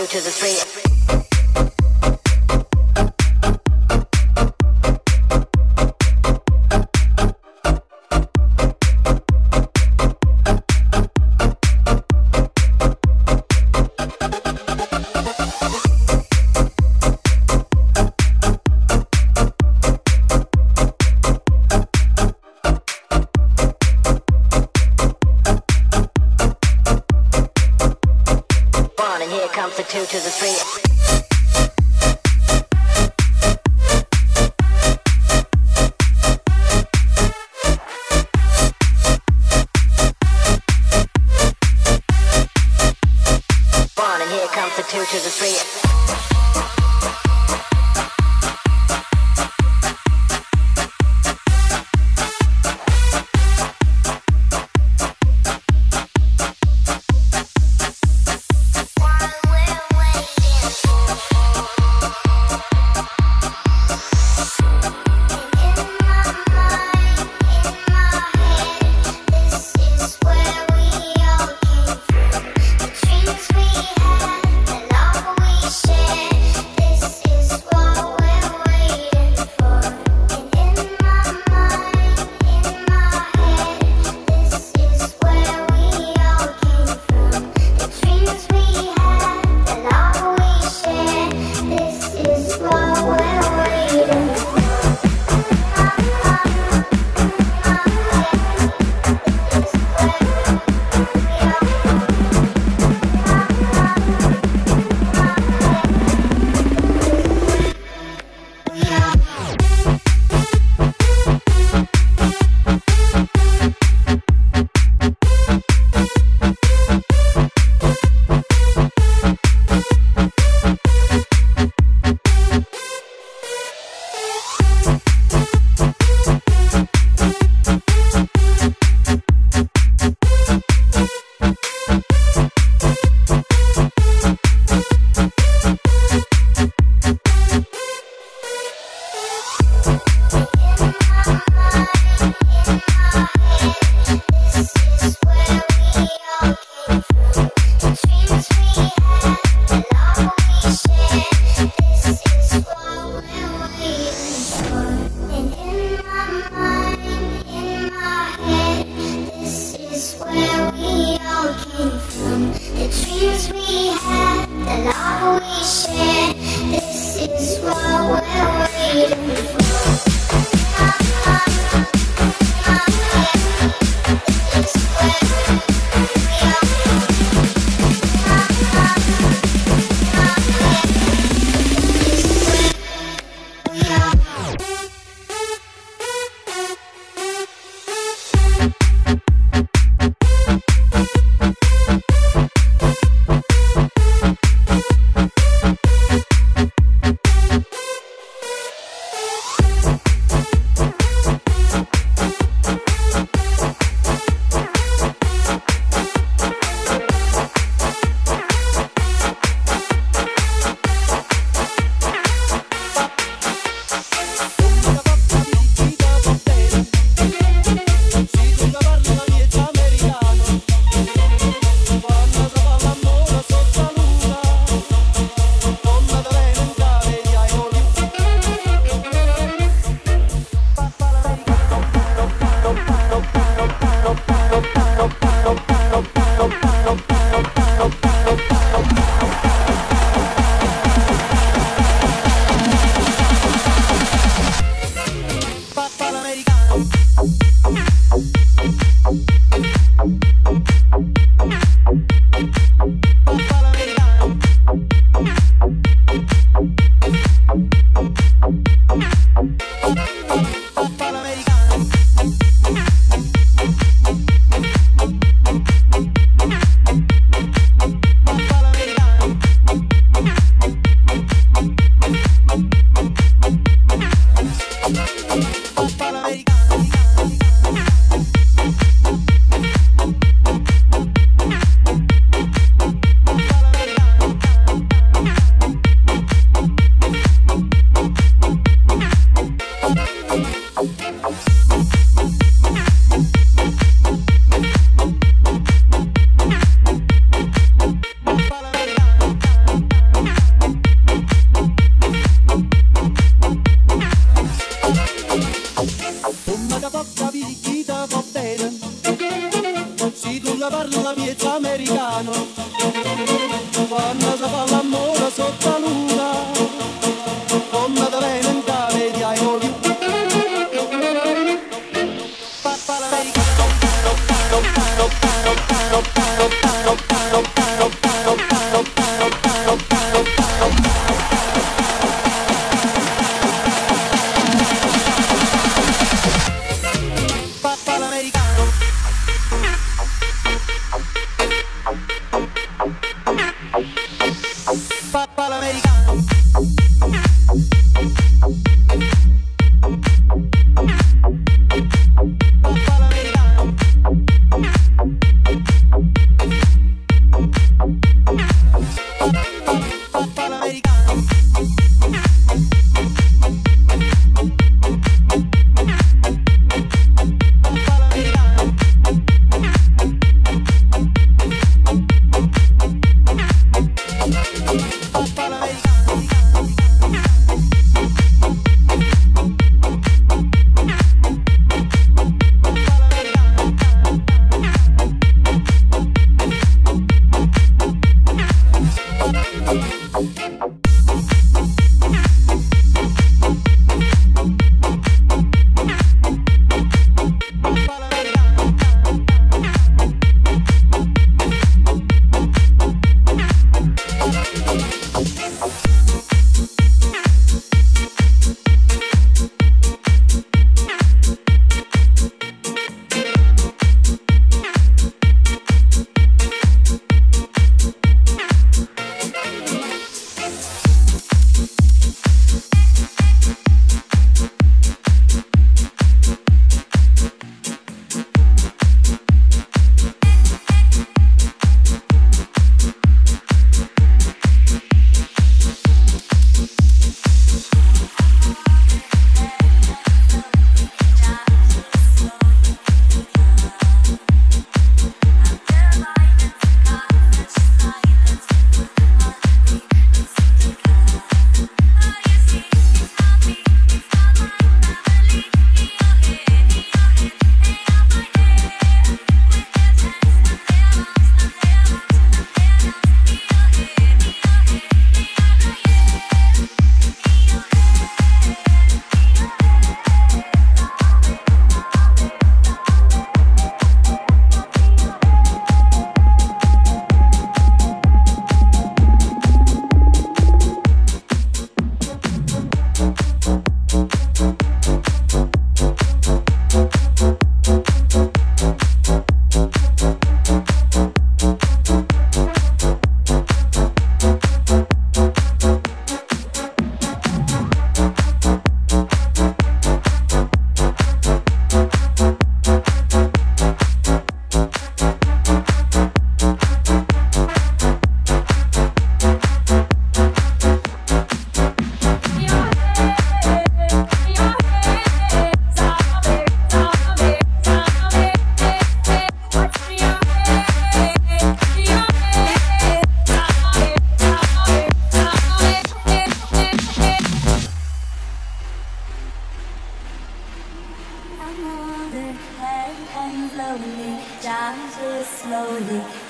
two to the three. Two to the three.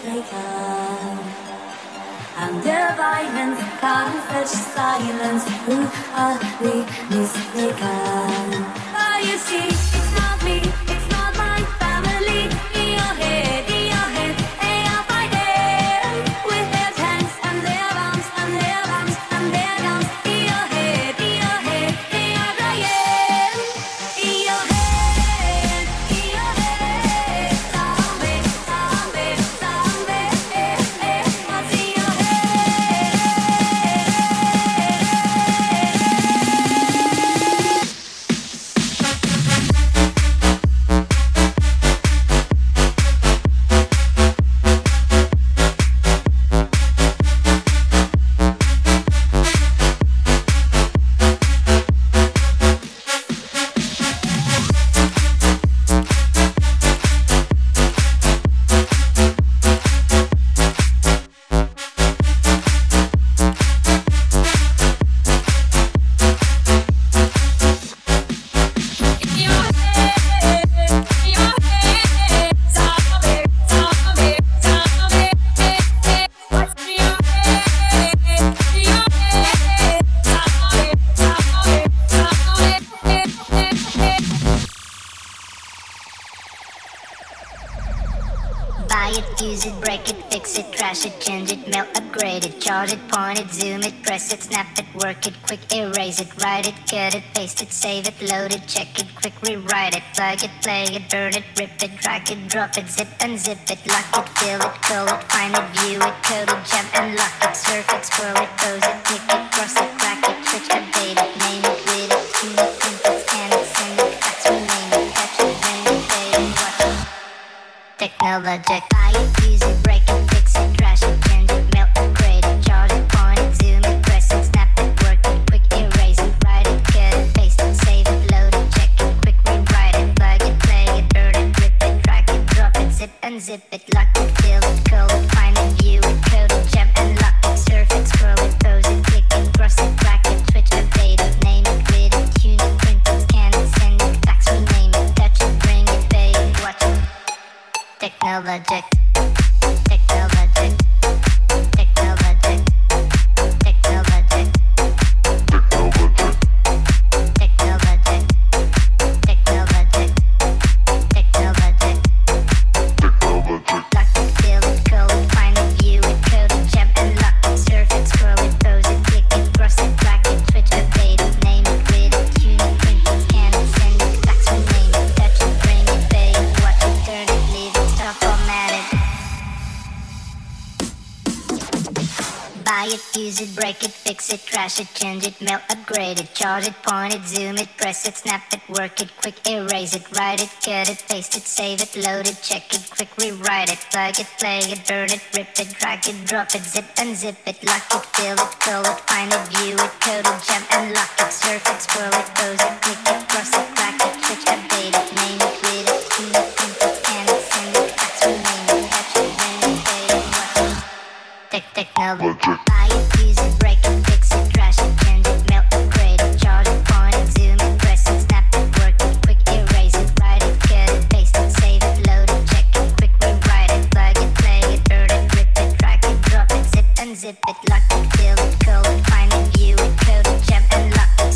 I'm their violence, caught in such silence. Who are we mistaken? Oh, you see, it's not me, it's not my family. In your head, they are fighting with their tanks and their bombs and their bombs and their guns. In your head, they are dying. In your head, zombie, zombie, zombie. What's in your use it, break it, fix it, trash it, change it, melt, upgrade it, charge it, point it, zoom it, press it, snap it, work it, quick erase it, write it, cut it, paste it, save it, load it, check it, quick rewrite it, plug it, play it, burn it, rip it, drag it, drop it, zip unzip it, lock it, fill it, call it, find it, view it, code it, jump and lock it, surf it, scroll it, pose it, click it, cross it, crack it, switch, update it, name it, read it, tune it, print it, scan it, send it, fax, rename it, touch it, bring it, pay it, watch it. Technologic, buy it, use it, break it, fix it, trash it, change it, melt, upgrade it, charge it, point it, zoom it, press it, snap it, work it, quick erase it, write it, cut it, paste it, save it, load it, check it, quick rewrite it, plug it, play it, burn it, rip it, drag it, drop it, zip unzip it, lock it, fill it, call it, find it, view it, code it, jump and lock it, surf it, scroll it, pose it, click it, cross it, crack it, switch, update it, name it, read it, tune it, print it, scan it, send it, fax, rename it, touch it, bring it, pay it, watch it. Technologic, technologic, technologic, technologic, technologic, technologic, technologic, technologic. Lock it, fill it, call it, find it, view it, code it, jump and lock it, surf it, scroll it, pose it, click it, cross it, crack it, switch, update it, name it, read it, tune it, print it, scan it, send it, fax, rename it, touch it, bring it, pay it, watch it, turn it, leave it, stop, format it. Buy it, use it, break it, fix it, trash it, change it, melt, upgrade it, charge it, point it, zoom it, press it, snap it, work it, quick erase it, write it, cut it, paste it, save it, load it, check it, quick rewrite it, plug it, play it, burn it, rip it, drag it, drop it, zip unzip it, lock it, fill it, call it, find it, view it, code it, jump and lock it, surf it, scroll it, pose it, click it, cross it, crack it, switch, update it, name it, read it, tune it, print it, scan it, send it, fax, rename it, touch it, bring it, pay it, watch it. Technology. Buy it, use it, break it, fix it, trash it, change it, melt, upgrade it, charge it, point it, zoom it, press it, snap it, work it, quick erase it, write it, cut it, paste it, save it, load it, check it, quick rewrite it, plug it, play it, burn it, rip it, drag it, drop it, zip unzip it, lock it, fill it, call it, find it, view it, code it, jump and lock it.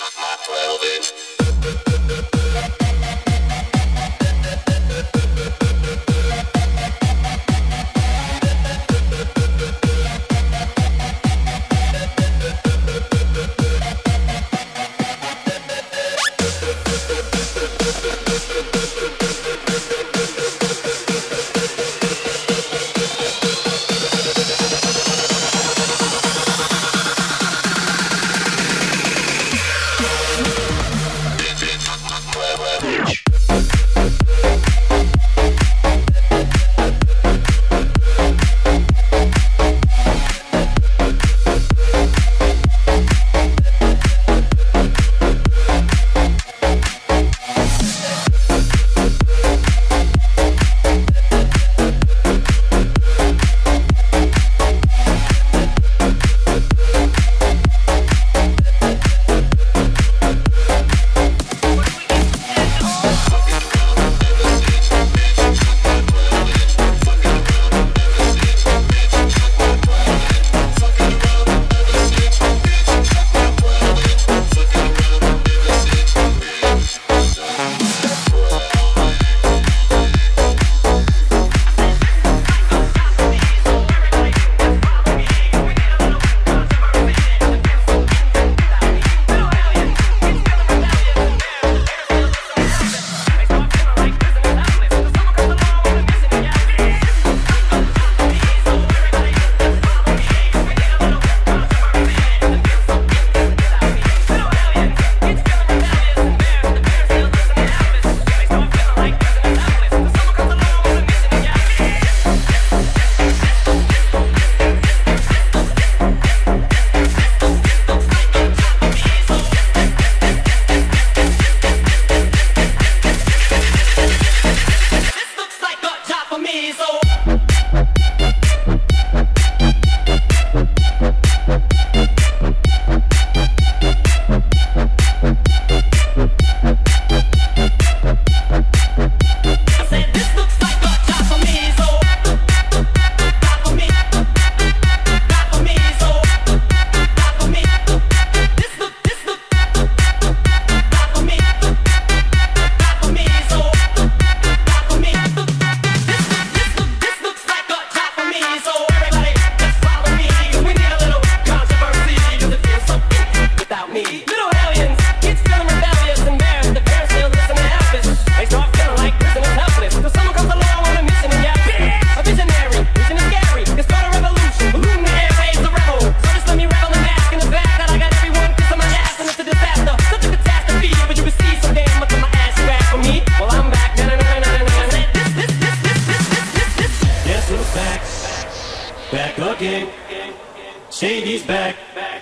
Shady's back.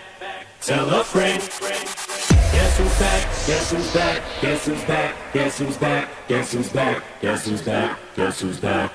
Tell a friend. Guess who's back? Guess who's back? Guess who's back? Guess who's back? Guess who's back? Guess who's back? Guess who's back?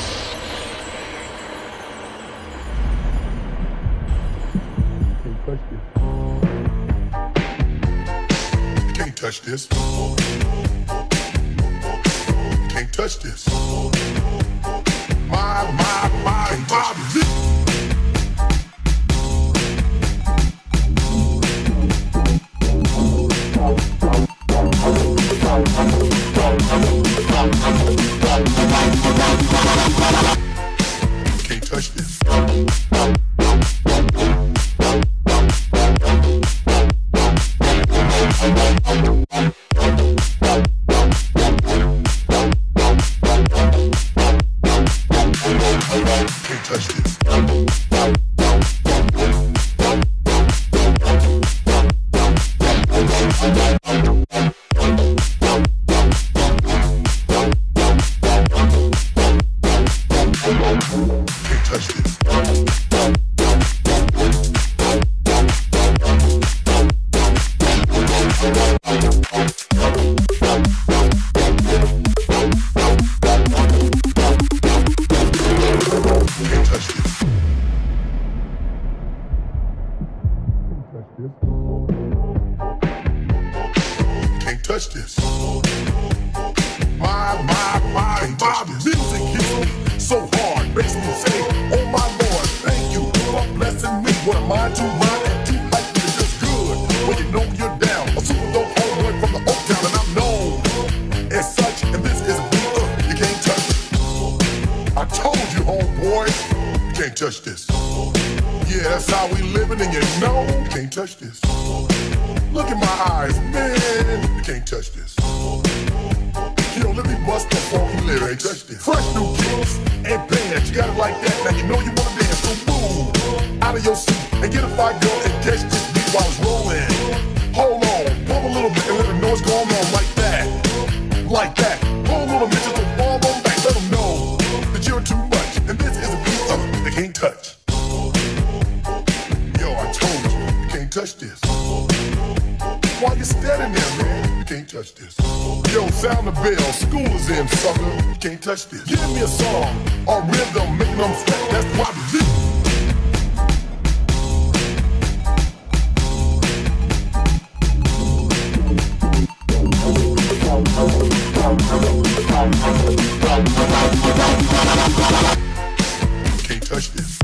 Question. touch this. Can't touch this. My music. Can't touch this. Touch this. Give me a song or rhythm, making them sweat. That's why we live. Can't touch this.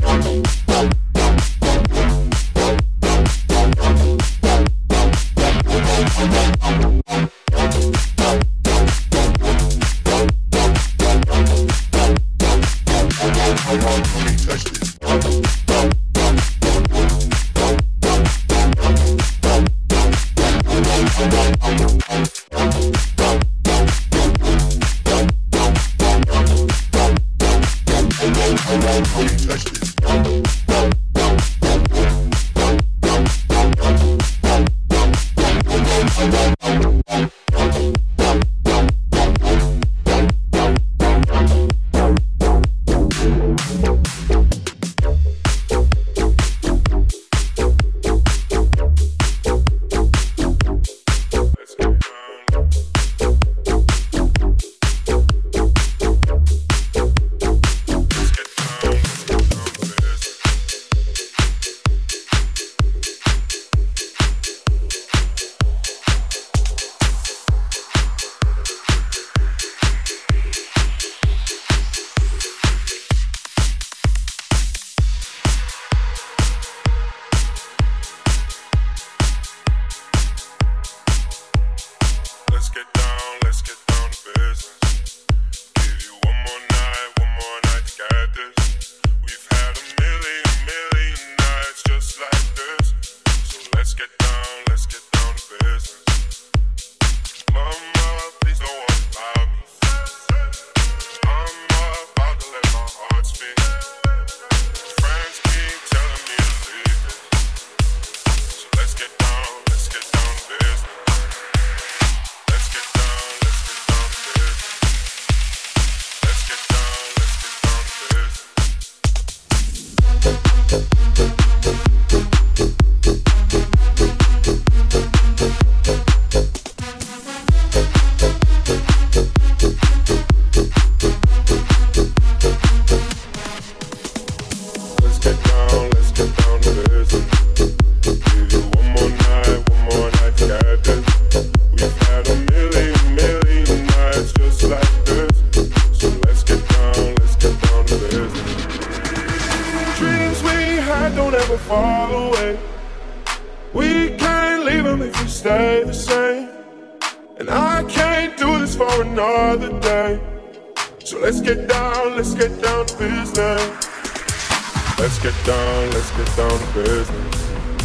We can't leave them if we stay the same. And I can't do this for another day. So let's get down to business. Let's get down to business.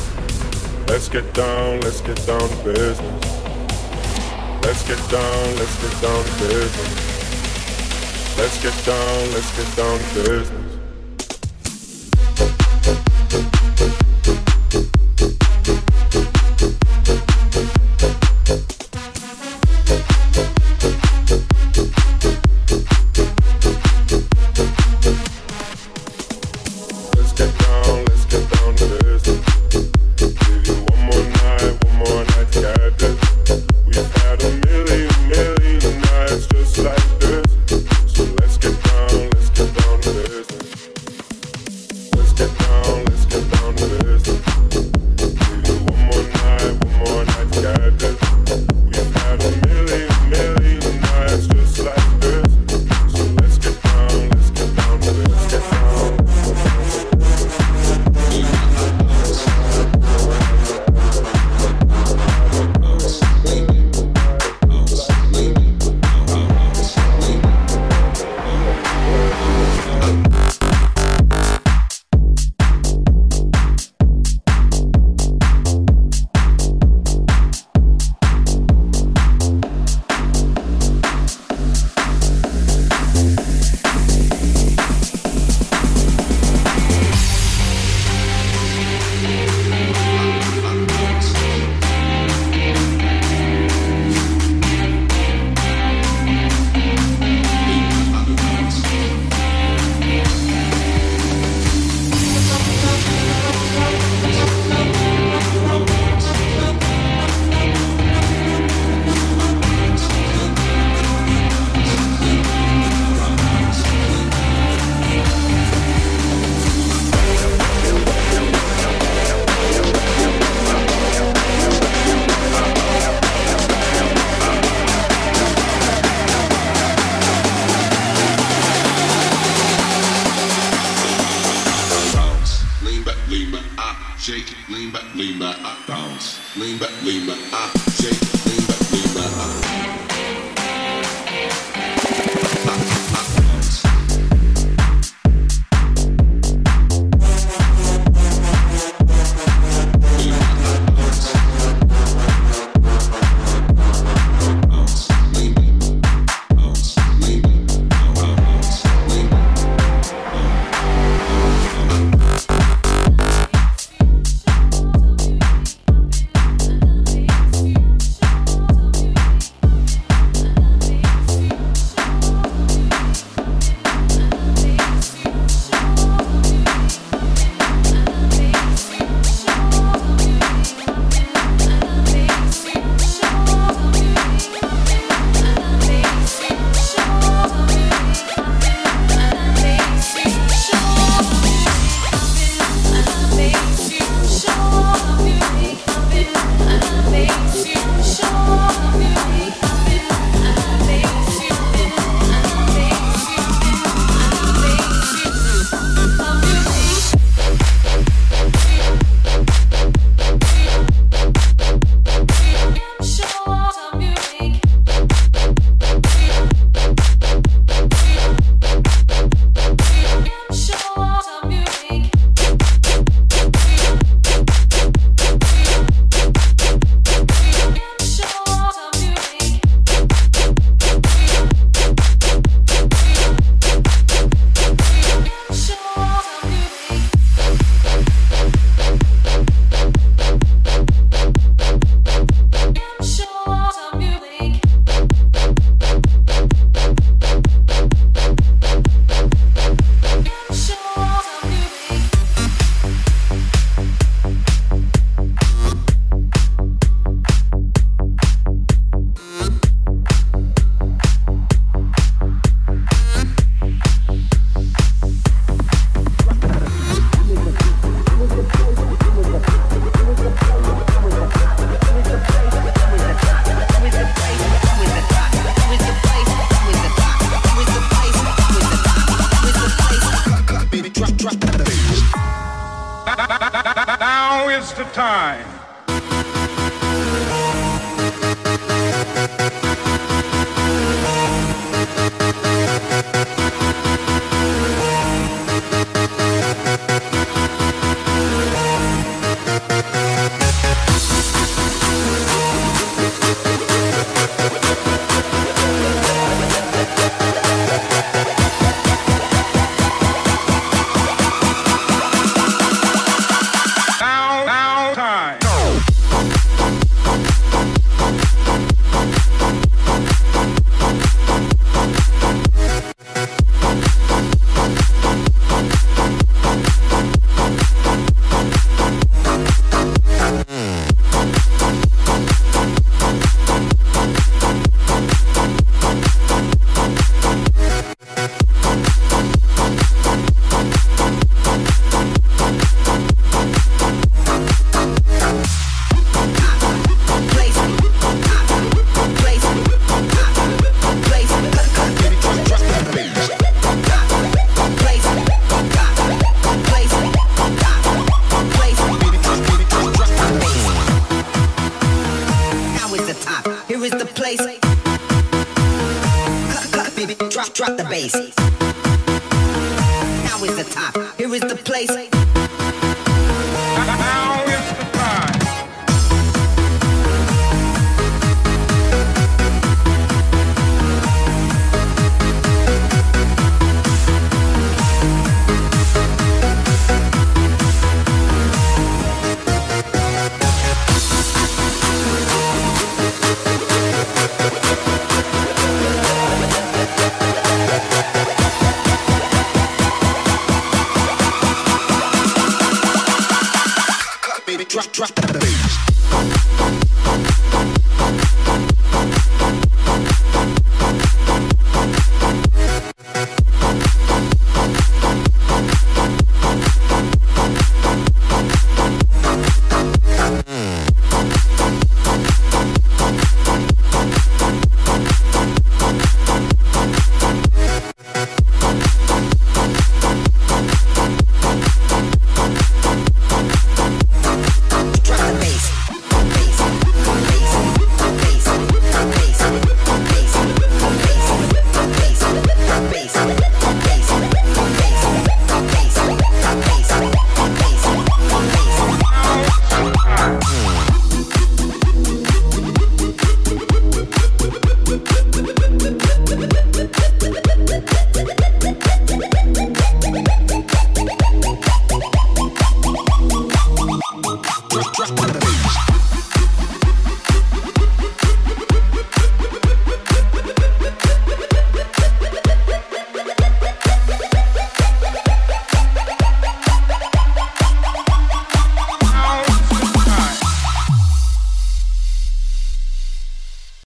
Let's get down to business. Let's get down to business. Let's get down to business. Now is the time place. Cut, baby, drop the bass. Now is the top. Here is the place. Now it's the time. Drop the bass.